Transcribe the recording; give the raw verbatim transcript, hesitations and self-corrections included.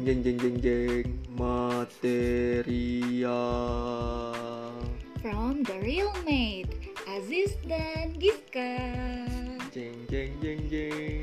jeng jeng jeng jeng material From The Real Mate, Aziz dan Giska. jeng jeng jeng jeng